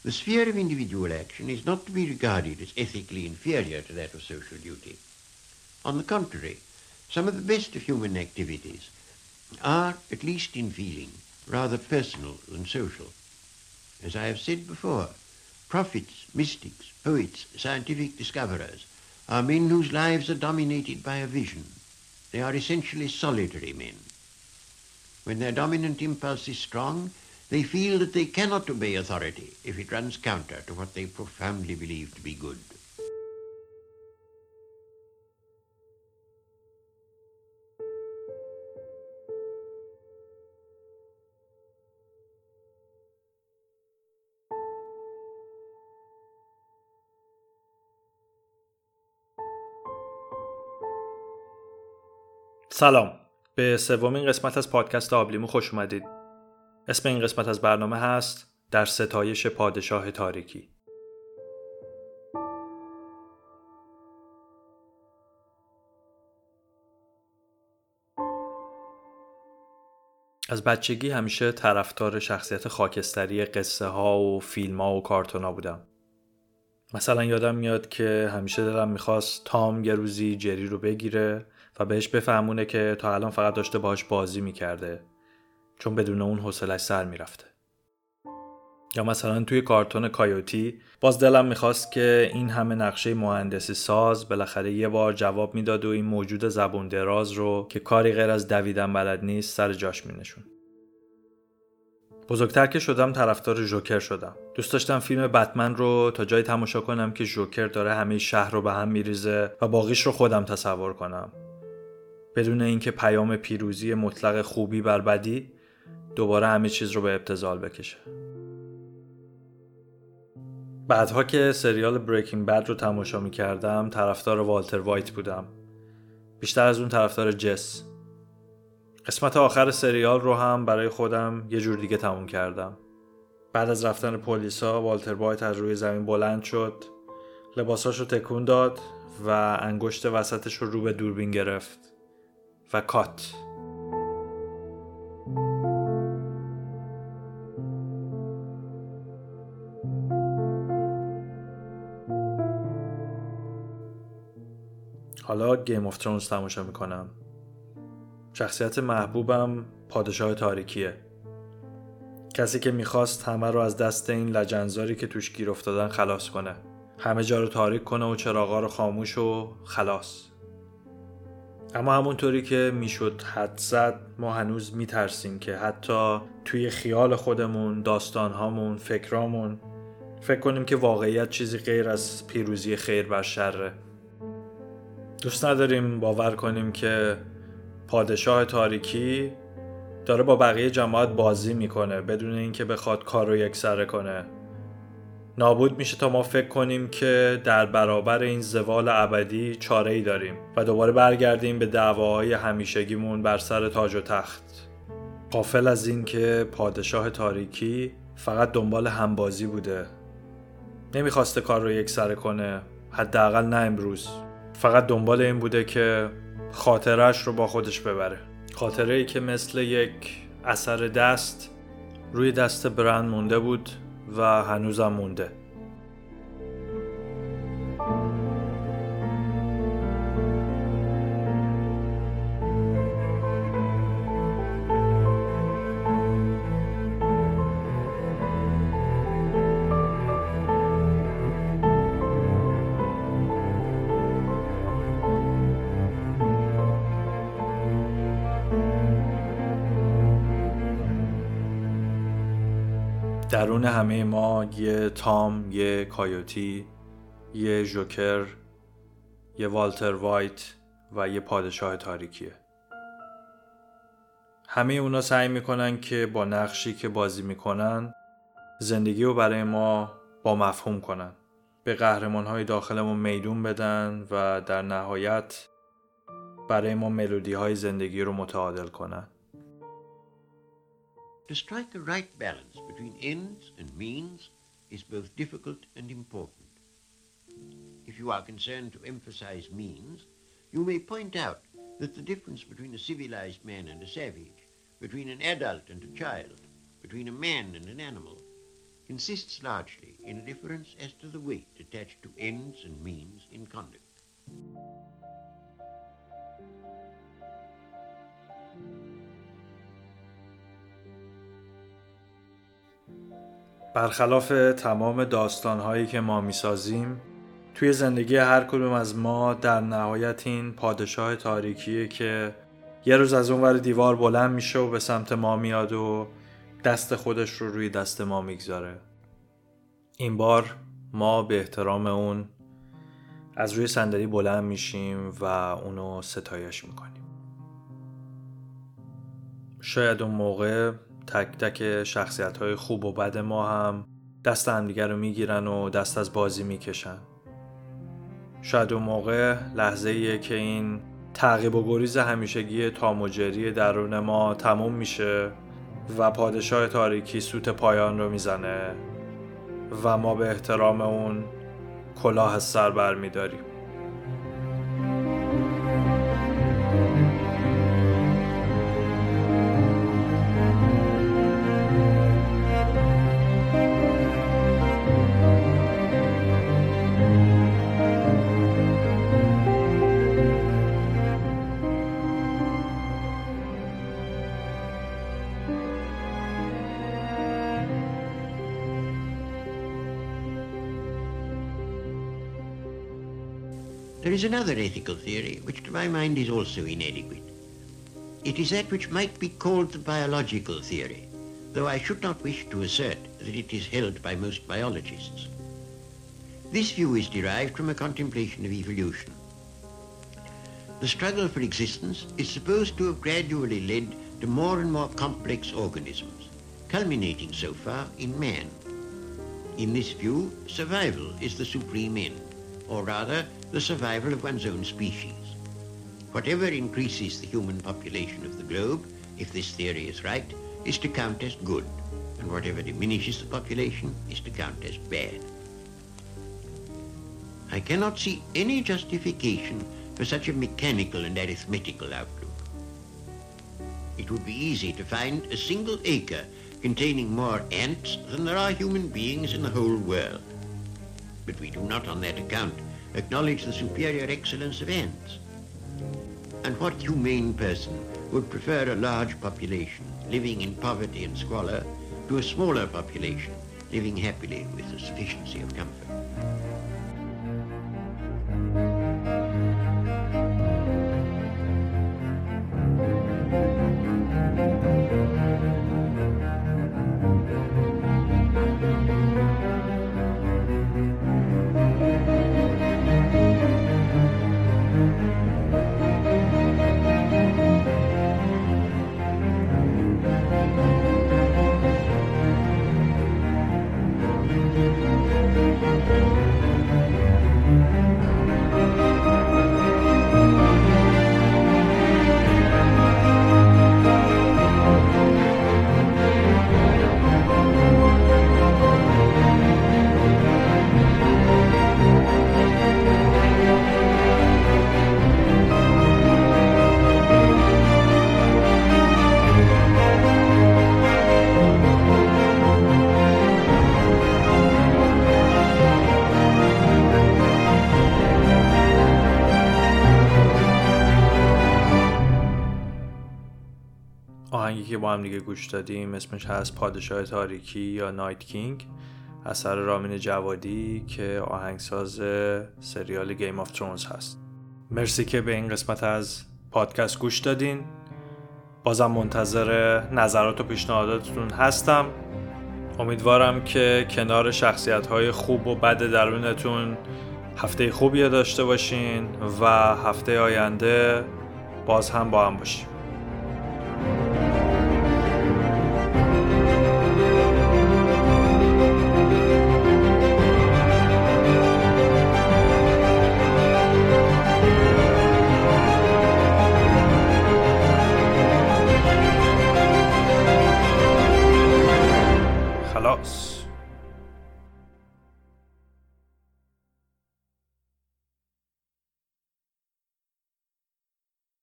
The sphere of individual action is not to be regarded as ethically inferior to that of social duty. On the contrary, some of the best of human activities are, at least in feeling, rather personal than social. As I have said before, prophets, mystics, poets, scientific discoverers are men whose lives are dominated by a vision. They are essentially solitary men. When their dominant impulse is strong, they feel that they cannot obey authority if it runs counter to what they profoundly believe to be good. سلام، به سومین قسمت از پادکست آبلیمو خوش اومدید. اسم این قسمت از برنامه هست در ستایش پادشاه تاریکی. از بچگی همیشه طرفدار شخصیت خاکستری قصه ها و فیلم ها و کارتون ها بودم. مثلا یادم میاد که همیشه دلم میخواست تام یه روزی جری رو بگیره و بهش بفهمونه که تا الان فقط داشته باهاش بازی میکرده، چون بدون اون حوصله‌اش سر میرفته. یا مثلا توی کارتون کایوتی باز دلم میخواست که این همه نقشه مهندسی ساز بالاخره یه بار جواب میداد و این موجود زبون دراز رو که کاری غیر از دویدن بلد نیست سر جاش مینشون. بزرگتر که شدم طرفدار جوکر شدم. دوست داشتم فیلم بتمن رو تا جایی تماشا کنم که جوکر داره همه شهر رو به هم میریزه و باقیش رو خودم تصور کنم، بدون اینکه پیام پیروزی مطلق خوبی بر بدی دوباره همه چیز رو به ابتذال بکشه. بعدها که سریال بریکینگ بد رو تماشا می‌کردم طرفدار والتر وایت بودم، بیشتر از اون طرفدار جس. قسمت آخر سریال رو هم برای خودم یه جور دیگه تموم کردم. بعد از رفتن پلیسا والتر وایت از روی زمین بلند شد، لباساشو تکون داد و انگشت وسطش رو به دوربین گرفت و کات. حالا گیم آف ترونز تماشا میکنم. شخصیت محبوبم پادشاه تاریکیه. کسی که میخواست همه رو از دست این لجنزاری که توش گیر افتادن خلاص کنه. همه جا رو تاریک کنه و چراغا رو خاموش و خلاص. اما همونطوری که میشد حد زد ما هنوز میترسیم که حتی توی خیال خودمون، داستانهامون، فکرامون فکر کنیم که واقعیت چیزی غیر از پیروزی خیر بر شره. دوست نداریم باور کنیم که پادشاه تاریکی داره با بقیه جماعت بازی میکنه بدون اینکه بخواد کار رو یکسره کنه. نابود میشه تا ما فکر کنیم که در برابر این زوال ابدی چاره‌ای داریم و دوباره برگردیم به دعواهای همیشگیمون بر سر تاج و تخت، غافل از این که پادشاه تاریکی فقط دنبال همبازی بوده. نمیخواسته کار رو یکسره کنه، حداقل نه امروز. فقط دنبال این بوده که خاطرش رو با خودش ببره. خاطره‌ای که مثل یک اثر دست روی دست برند مونده بود و هنوزم مونده. درون همه ما یه تام، یه کایوتی، یه جوکر، یه والتر وایت و یه پادشاه تاریکیه. همه اونا سعی میکنن که با نقشی که بازی میکنن زندگی رو برای ما با مفهوم کنن، به قهرمانهای داخلمون میدون بدن و در نهایت برای ما ملودی های زندگی رو متعادل کنن. To strike a right balance between ends and means is both difficult and important. If you are concerned to emphasize means, you may point out that the difference between a civilized man and a savage, between an adult and a child, between a man and an animal, consists largely in a difference as to the weight attached to ends and means in conduct. برخلاف تمام داستان‌هایی که ما می‌سازیم، توی زندگی هر کدوم از ما در نهایت این پادشاه تاریکیه که یه روز از اون ور دیوار بلند میشه و به سمت ما میاد و دست خودش رو روی دست ما میگذاره. این بار ما به احترام اون از روی صندلی بلند میشیم و اونو ستایش میکنیم. شاید اون موقع تک تک شخصیت‌های خوب و بد ما هم دست همدیگر رو میگیرن و دست از بازی میکشن. شاید اون موقع لحظه‌ایه که این تعقیب و گریز همیشگی تام و جری درون ما تموم میشه و پادشاه تاریکی سوت پایان رو میزنه و ما به احترام اون کلاه از سر بر میداریم. There is another ethical theory which to my mind is also inadequate. It is that which might be called the biological theory, though I should not wish to assert that it is held by most biologists. This view is derived from a contemplation of evolution. The struggle for existence is supposed to have gradually led to more and more complex organisms, culminating so far in man. In this view, survival is the supreme end, or rather, the survival of one's own species. Whatever increases the human population of the globe, if this theory is right, is to count as good, and whatever diminishes the population is to count as bad. I cannot see any justification for such a mechanical and arithmetical outlook. It would be easy to find a single acre containing more ants than there are human beings in the whole world. But we do not on that account acknowledge the superior excellence of ants. And what humane person would prefer a large population living in poverty and squalor to a smaller population living happily with a sufficiency of comfort? آهنگی که با هم دیگه گوش دادیم اسمش هست پادشاه تاریکی یا نایت کینگ، اثر رامین جوادی که آهنگساز سریال گیم آف ترونز هست. مرسی که به این قسمت از پادکست گوش دادین. بازم منتظر نظرات و پیشنهاداتتون هستم. امیدوارم که کنار شخصیت‌های خوب و بد درونتون هفته خوبی داشته باشین و هفته آینده باز هم با هم باشیم.